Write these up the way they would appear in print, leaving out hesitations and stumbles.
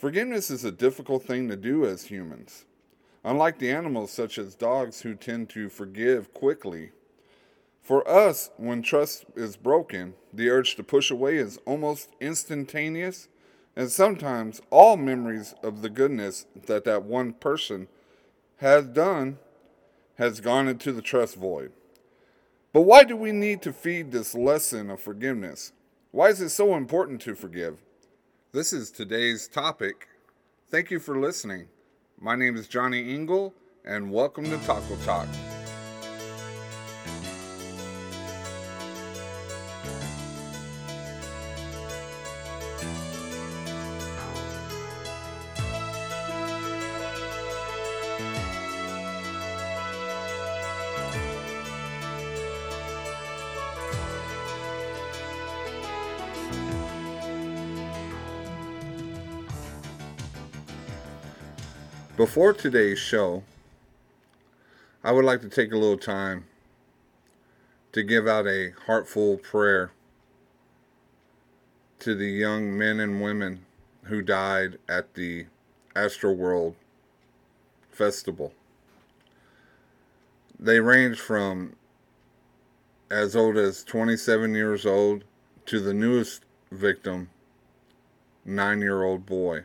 Forgiveness is a difficult thing to do as humans. Unlike the animals, such as dogs, who tend to forgive quickly, for us, when trust is broken, the urge to push away is almost instantaneous, and sometimes all memories of the goodness that one person has done has gone into the trust void. But why do we need to feed this lesson of forgiveness? Why is it so important to forgive? This is today's topic. Thank you for listening. My name is Johnny Engel, and welcome to Taco Talk. Before today's show, I would like to take a little time to give out a heartful prayer to the young men and women who died at the Astroworld Festival. They range from as old as 27 years old to the newest victim, 9-year-old boy.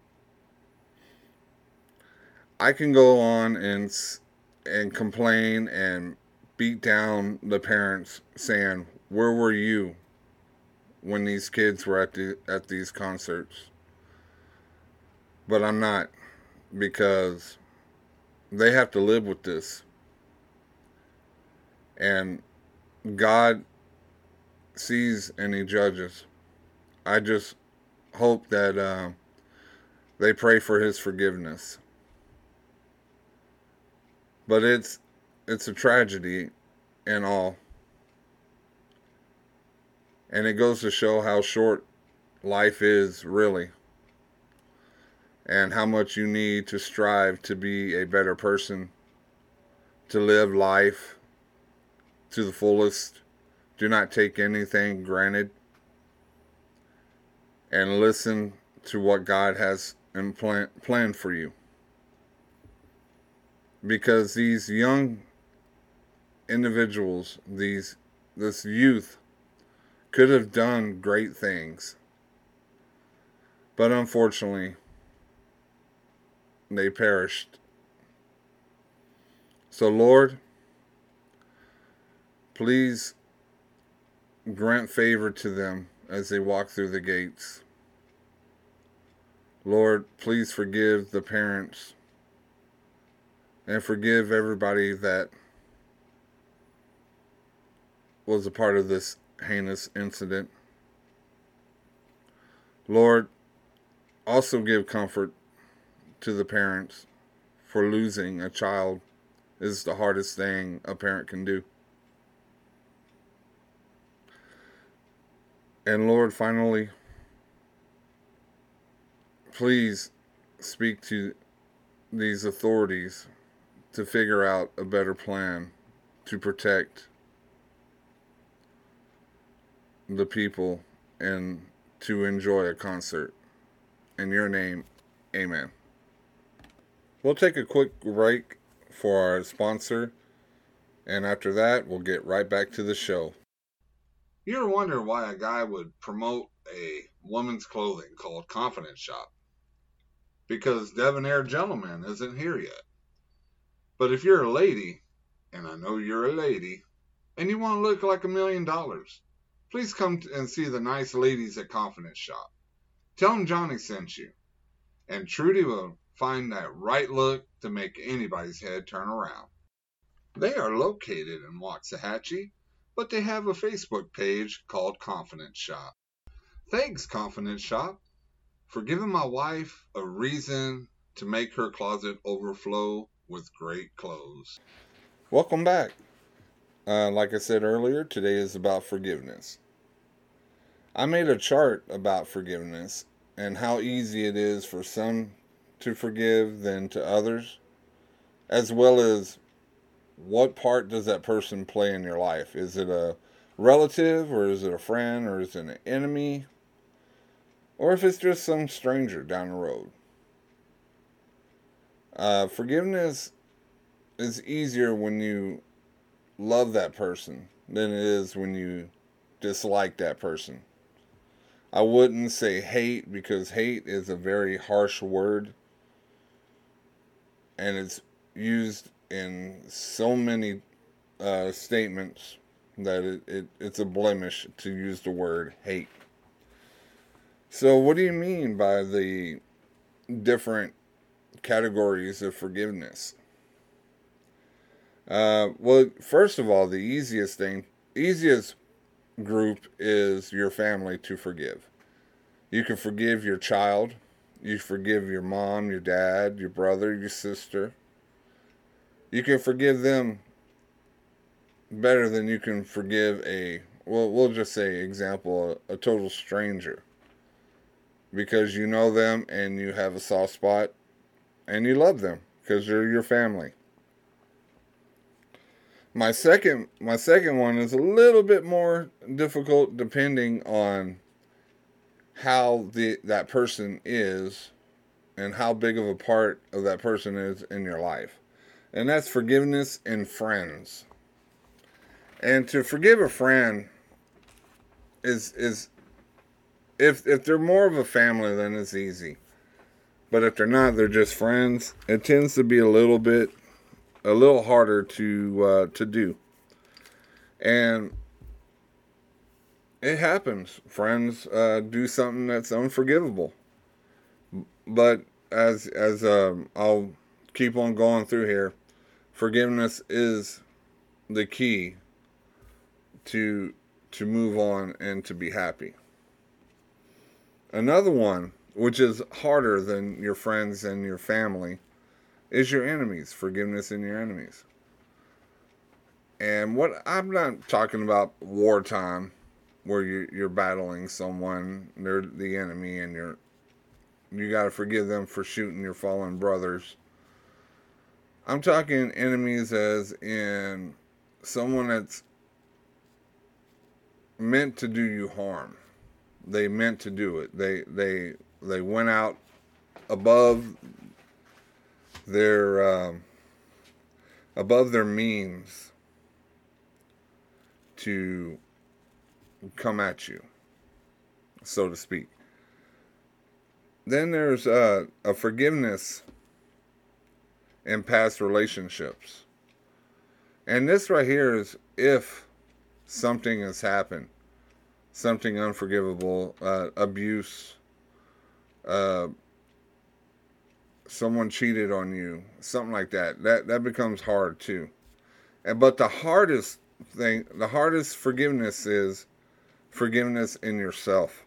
I can go on and complain and beat down the parents saying, "Where were you when these kids were at these concerts?" But I'm not, because they have to live with this. And God sees and He judges. I just hope that they pray for His forgiveness. But it's a tragedy and all. And it goes to show how short life is, really. And how much you need to strive to be a better person, to live life to the fullest. Do not take anything granted. And listen to what God has planned for you. Because these young individuals, this youth, could have done great things. But unfortunately, they perished. So Lord, please grant favor to them as they walk through the gates. Lord, please forgive the parents and forgive everybody that was a part of this heinous incident. Lord, also give comfort to the parents, for losing a child is the hardest thing a parent can do. And Lord, finally, please speak to these authorities to figure out a better plan to protect the people and to enjoy a concert. In your name, amen. We'll take a quick break for our sponsor, and after that, we'll get right back to the show. You ever wonder why a guy would promote a woman's clothing called Confidence Shop? Because Debonair Gentleman isn't here yet. But if you're a lady, and I know you're a lady, and you want to look like $1 million, please come and see the nice ladies at Confidence Shop. Tell them Johnny sent you, and Trudy will find that right look to make anybody's head turn around. They are located in Waxahachie, but they have a Facebook page called Confidence Shop. Thanks, Confidence Shop, for giving my wife a reason to make her closet overflow with great clothes. Welcome back. Like I said earlier, today is about forgiveness. I made a chart about forgiveness and how easy it is for some to forgive than to others, as well as what part does that person play in your life. Is it a relative, or is it a friend, or is it an enemy? or if it's just some stranger down the road. Forgiveness is easier when you love that person than it is when you dislike that person. I wouldn't say hate because hate is a very harsh word and it's used in so many statements that it's a blemish to use the word hate. So, what do you mean by the different categories of forgiveness? Well, first of all, the easiest group is your family to forgive. You can forgive your child, you forgive your mom, your dad, your brother, your sister. You can forgive them better than you can forgive we'll just say, example, a total stranger. Because you know them and you have a soft spot and you love them because they're your family. My second one is a little bit more difficult depending on how that person is and how big of a part of that person is in your life. And that's forgiveness in friends. And to forgive a friend is if they're more of a family, then it's easy. But if they're not, they're just friends. It tends to be a little harder to do. And it happens. Friends do something that's unforgivable. But as I'll keep on going through here, forgiveness is the key to move on and to be happy. Another one, which is harder than your friends and your family, is your enemies. Forgiveness in your enemies. And what I'm not talking about wartime, where you're battling someone, they're the enemy, and you got to forgive them for shooting your fallen brothers. I'm talking enemies as in someone that's meant to do you harm. They meant to do it. They went out above their means to come at you, so to speak. Then there's a forgiveness in past relationships. And this right here is if something has happened, something unforgivable, abuse, someone cheated on you, something like that. That becomes hard too. But the hardest forgiveness is forgiveness in yourself.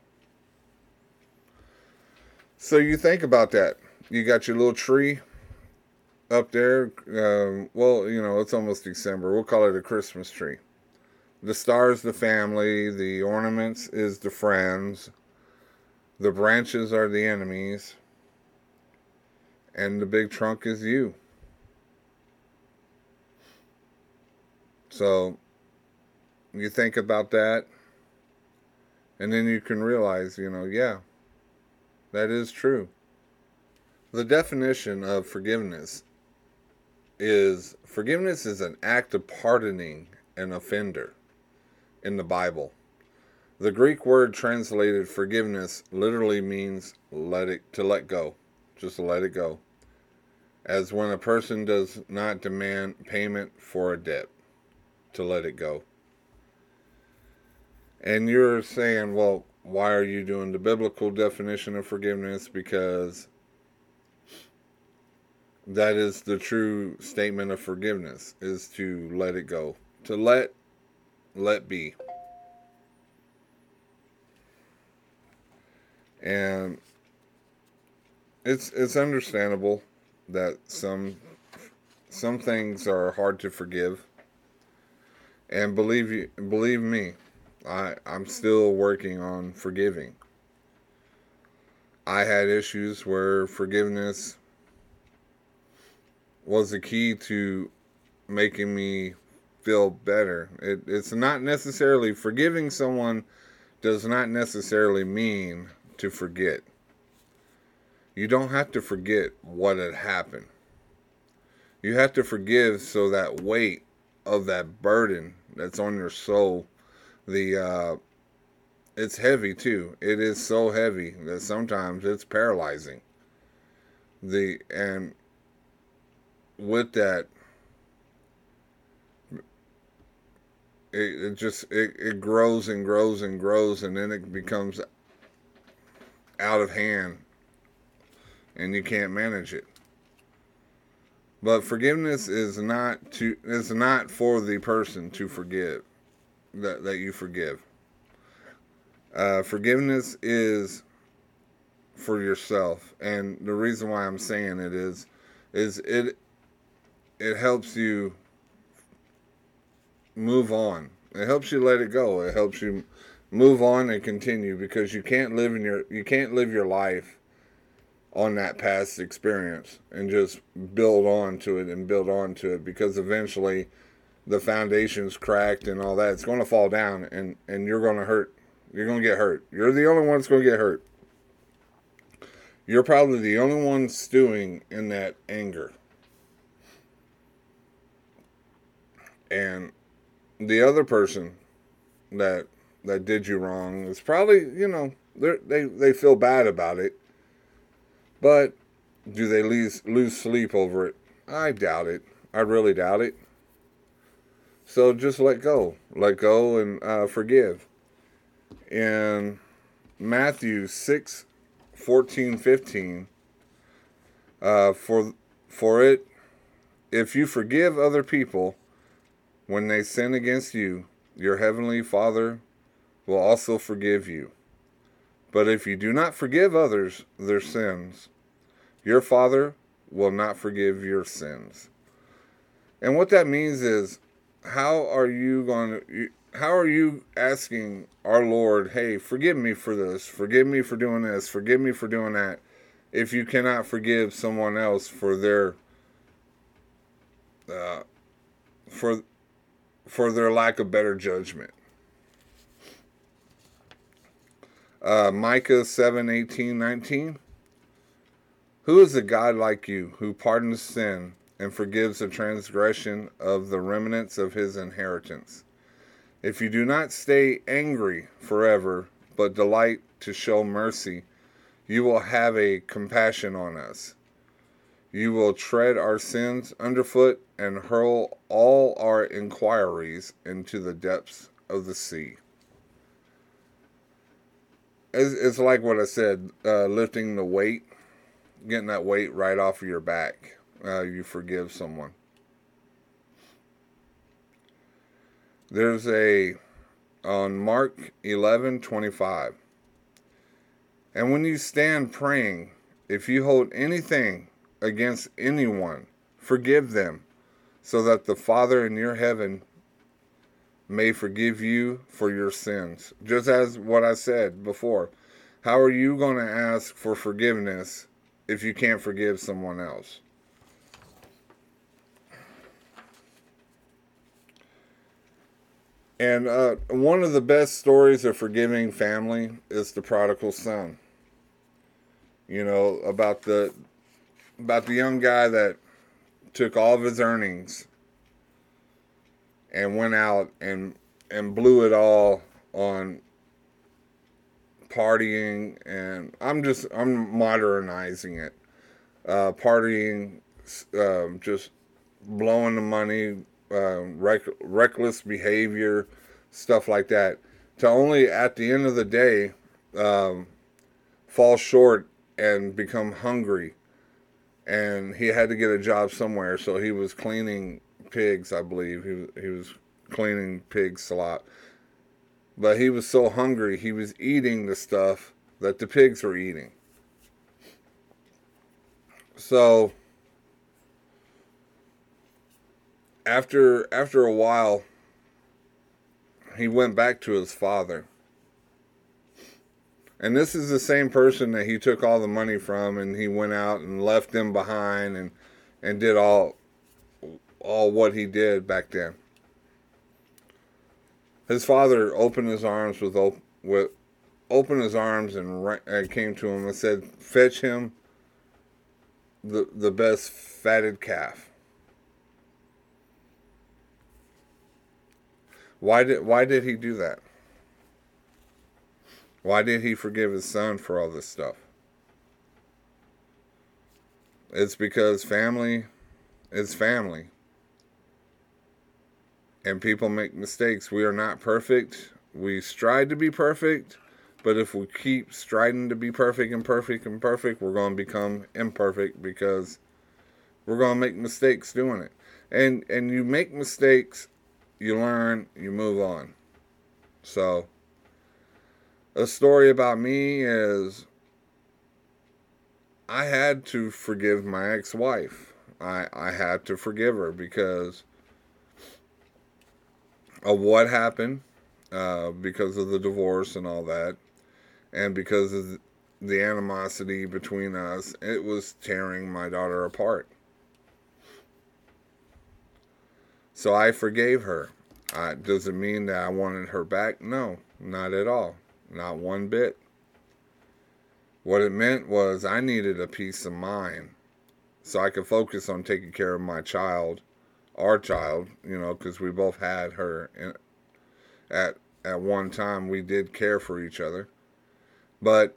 So you think about that. You got your little tree up there. It's almost December. We'll call it a Christmas tree. The stars, the family. The ornaments is the friends. The branches are the enemies. And the big trunk is you. So you think about that. And then you can realize, yeah, that is true. The definition of forgiveness is an act of pardoning an offender in the Bible. The Greek word translated forgiveness literally means to let go. Just let it go. As when a person does not demand payment for a debt, to let it go. And you're saying, well, why are you doing the biblical definition of forgiveness? Because that is the true statement of forgiveness, is to let it go. To let be. And it's understandable that some things are hard to forgive. And believe me, I'm still working on forgiving. I had issues where forgiveness was the key to making me feel better. It's not necessarily, forgiving someone does not necessarily mean to forget. You don't have to forget what had happened. You have to forgive so that weight of that burden that's on your soul, it's heavy too. It is so heavy that sometimes it's paralyzing. And with that, it grows and grows and grows, and then it becomes out of hand, and you can't manage it. But forgiveness is not for the person to forgive that you forgive. Forgiveness is for yourself, and the reason why I'm saying it is it helps you move on. It helps you let it go. It helps you move on and continue, because you can't live your life on that past experience and just build on to it, because eventually the foundation's cracked and all that. It's going to fall down, and you're going to hurt. You're going to get hurt. You're the only one that's going to get hurt. You're probably the only one stewing in that anger. And the other person that did you wrong is probably, they feel bad about it. But do they lose sleep over it? I doubt it. I really doubt it. So just let go. Let go and forgive. In Matthew 6:14-15, for it, if you forgive other people when they sin against you, your heavenly Father will also forgive you. But if you do not forgive others their sins, your Father will not forgive your sins. And what that means is, how are you asking our Lord, hey, forgive me for this, forgive me for doing this, forgive me for doing that, if you cannot forgive someone else for their for their lack of better judgment? Micah 7:18-19. Who is a God like you, who pardons sin and forgives the transgression of the remnants of his inheritance? If you do not stay angry forever, but delight to show mercy, you will have a compassion on us. You will tread our sins underfoot and hurl all our inquiries into the depths of the sea. It's like what I said, lifting the weight, getting that weight right off of your back. You forgive someone. There's on Mark 11:25. And when you stand praying, if you hold anything against anyone, forgive them, so that the Father in your heaven may forgive you for your sins. Just as what I said before, how are you going to ask for forgiveness if you can't forgive someone else? And one of the best stories of forgiving family is the prodigal son. About the young guy that took all of his earnings and went out and blew it all on partying, and I'm modernizing it. Partying, just blowing the money, reckless behavior, stuff like that, to only at the end of the day fall short and become hungry. And he had to get a job somewhere, so he was cleaning pigs, I believe. He was cleaning pigs a lot. But he was so hungry, he was eating the stuff that the pigs were eating. So after a while, he went back to his father. And this is the same person that he took all the money from, and he went out and left them behind and did all what he did back then. His father opened his arms with opened his arms and came to him and said, "Fetch him the best fatted calf." Why did he do that? Why did he forgive his son for all this stuff? It's because family is family. And people make mistakes. We are not perfect. We strive to be perfect. But if we keep striving to be perfect and perfect and perfect, we're going to become imperfect because we're going to make mistakes doing it. And you make mistakes, you learn, you move on. So, a story about me is I had to forgive my ex-wife. I had to forgive her because of what happened, because of the divorce and all that, and because of the animosity between us. It was tearing my daughter apart. So I forgave her. Does it mean that I wanted her back? No, not at all. Not one bit. What it meant was I needed a peace of mind so I could focus on taking care of my child, our child, because we both had her. At one time, we did care for each other. But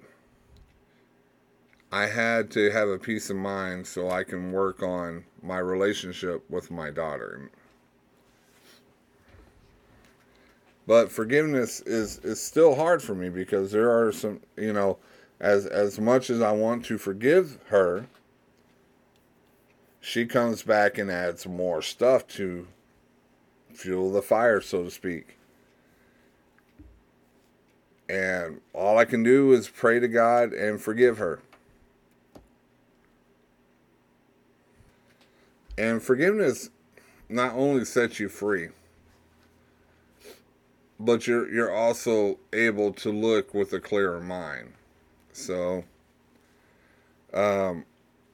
I had to have a peace of mind so I can work on my relationship with my daughter. But forgiveness is still hard for me because there are some, as much as I want to forgive her, she comes back and adds more stuff to fuel the fire, so to speak. And all I can do is pray to God and forgive her. And forgiveness not only sets you free, but you're also able to look with a clearer mind. So, well,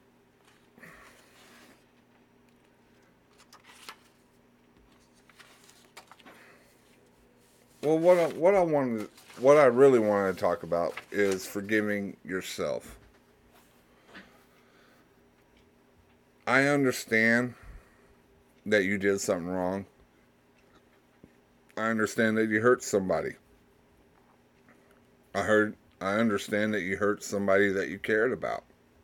what I really wanted to talk about is forgiving yourself. I understand that you did something wrong. I understand that you hurt somebody. I understand that you hurt somebody that you cared about.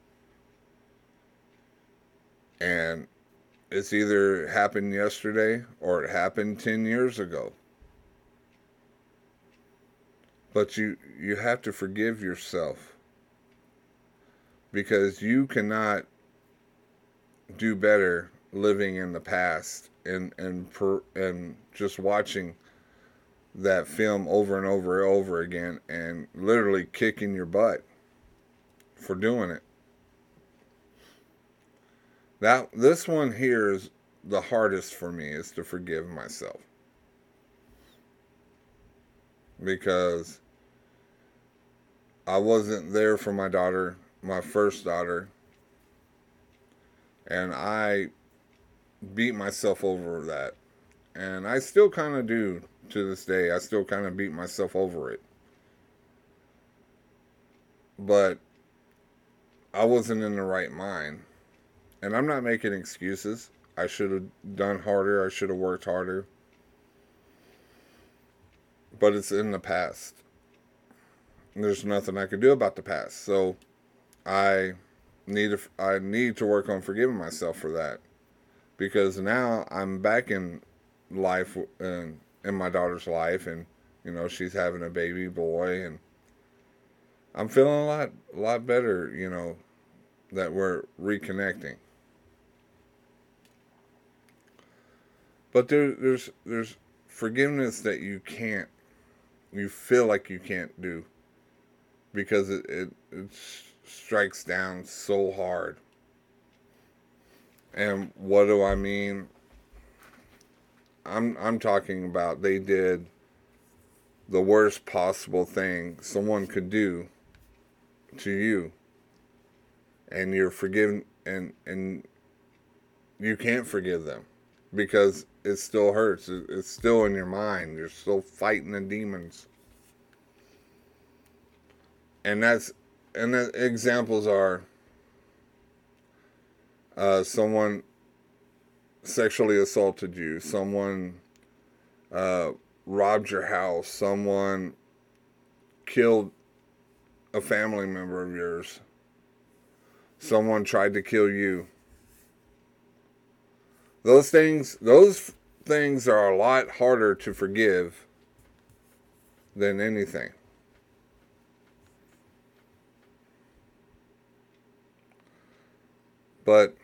And it's either happened yesterday or it happened 10 years ago. But you have to forgive yourself. Because you cannot do better living in the past and just watching that film over and over and over again and literally kicking your butt for doing it. This one here is the hardest for me, is to forgive myself. Because I wasn't there for my daughter, my first daughter, and I beat myself over that. And I still kind of do to this day. I still kind of beat myself over it. But I wasn't in the right mind. And I'm not making excuses. I should have done harder. I should have worked harder. But it's in the past. There's nothing I could do about the past. So I need to work on forgiving myself for that. Because now I'm back in life, in my daughter's life, and she's having a baby boy, and I'm feeling a lot better, that we're reconnecting. But there's forgiveness that you feel like you can't do because it strikes down so hard. And what do I mean? I'm talking about they did the worst possible thing someone could do to you, and you're forgiven, and you can't forgive them because it still hurts. It's still in your mind. You're still fighting the demons. And the examples are someone sexually assaulted you, someone robbed your house, someone killed a family member of yours, someone tried to kill you. Those things are a lot harder to forgive than anything. But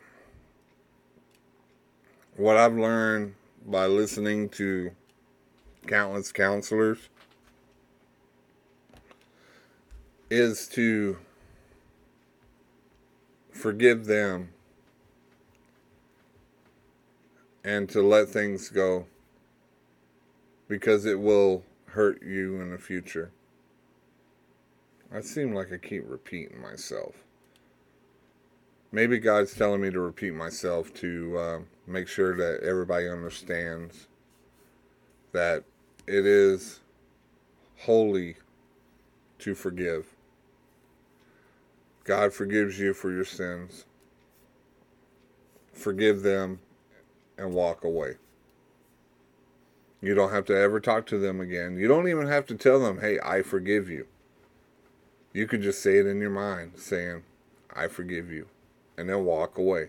what I've learned by listening to countless counselors is to forgive them and to let things go, because it will hurt you in the future. I seem like I keep repeating myself. Maybe God's telling me to repeat myself to make sure that everybody understands that it is holy to forgive. God forgives you for your sins. Forgive them and walk away. You don't have to ever talk to them again. You don't even have to tell them, hey, I forgive you. You could just say it in your mind, saying, I forgive you, and then walk away.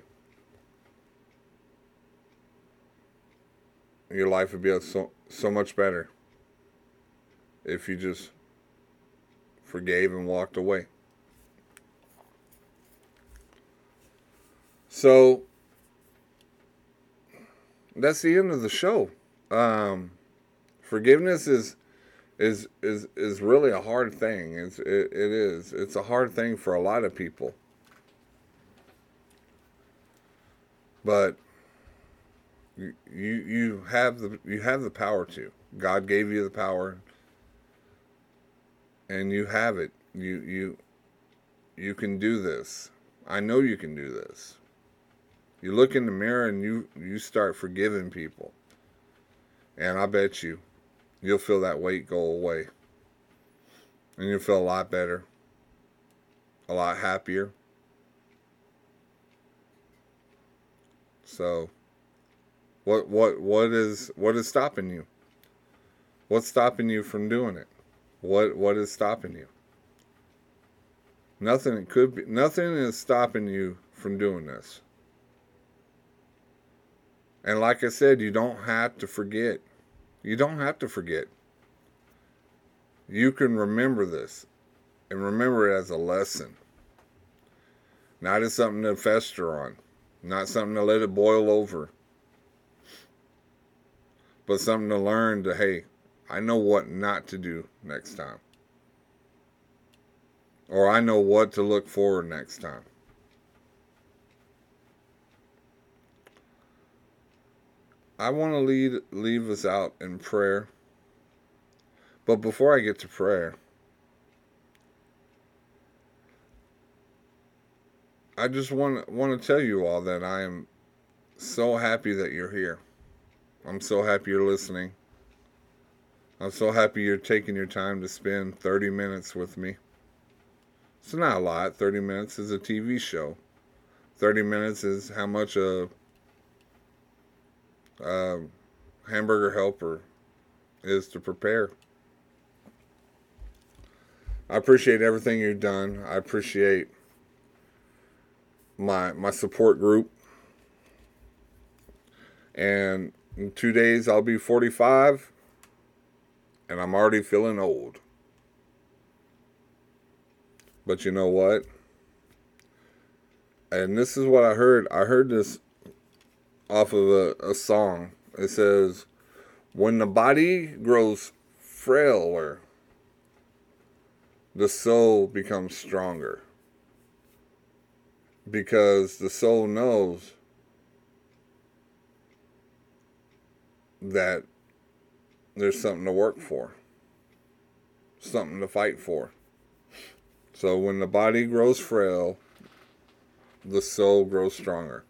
Your life would be so much better if you just forgave and walked away. So that's the end of the show. Forgiveness is really a hard thing. It is. It's a hard thing for a lot of people. But you have the power to. God gave you the power, and you have it. You can do this. I know you can do this. You look in the mirror and you start forgiving people. And I bet you'll feel that weight go away. And you'll feel a lot better. A lot happier. So what is stopping you? What's stopping you from doing it? What is stopping you? Nothing is stopping you from doing this. And like I said, you don't have to forget. You don't have to forget. You can remember this and remember it as a lesson. Not as something to fester on. Not something to let it boil over. But something to learn to, hey, I know what not to do next time. Or I know what to look for next time. I want to leave us out in prayer. But before I get to prayer, I just want to tell you all that I am so happy that you're here. I'm so happy you're listening. I'm so happy you're taking your time to spend 30 minutes with me. It's not a lot. 30 minutes is a TV show. 30 minutes is how much a hamburger helper is to prepare. I appreciate everything you've done. I appreciate my support group. And in 2 days I'll be 45, and I'm already feeling old. But you know what? And this is what I heard. I heard this off of a song. It says, when the body grows frailer, the soul becomes stronger. Because the soul knows that there's something to work for. Something to fight for. So when the body grows frail, the soul grows stronger.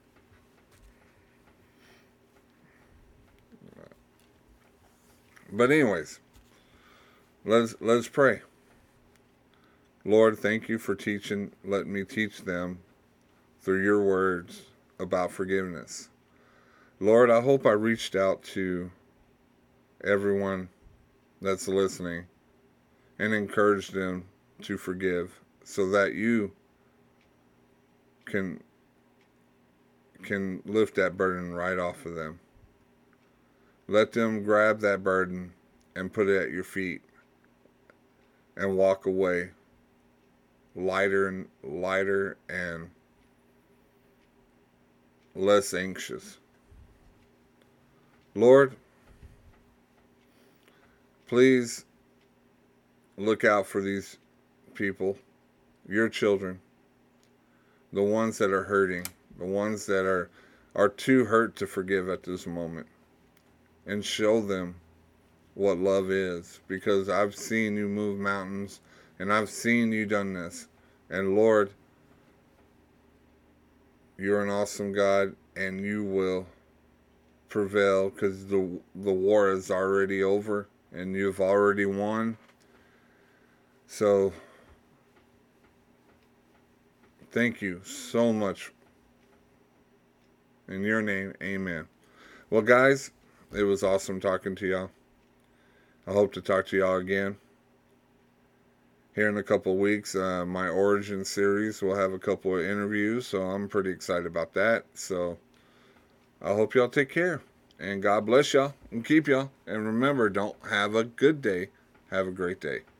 But anyways, let's pray. Lord, thank you for letting me teach them through your words about forgiveness. Lord, I hope I reached out to everyone that's listening and encouraged them to forgive so that you can lift that burden right off of them. Let them grab that burden and put it at your feet and walk away lighter and less anxious. Lord, please look out for these people, your children, the ones that are hurting, the ones that are too hurt to forgive at this moment, and show them what love is, because I've seen you move mountains and I've seen you done this. And Lord, you're an awesome God, and you will prevail, because the war is already over and you've already won. So thank you so much. In your name, amen. Well, guys, it was awesome talking to y'all. I hope to talk to y'all again here in a couple of weeks. My Origin series will have a couple of interviews, so I'm pretty excited about that. So I hope y'all take care, and God bless y'all and keep y'all. And remember, don't have a good day. Have a great day.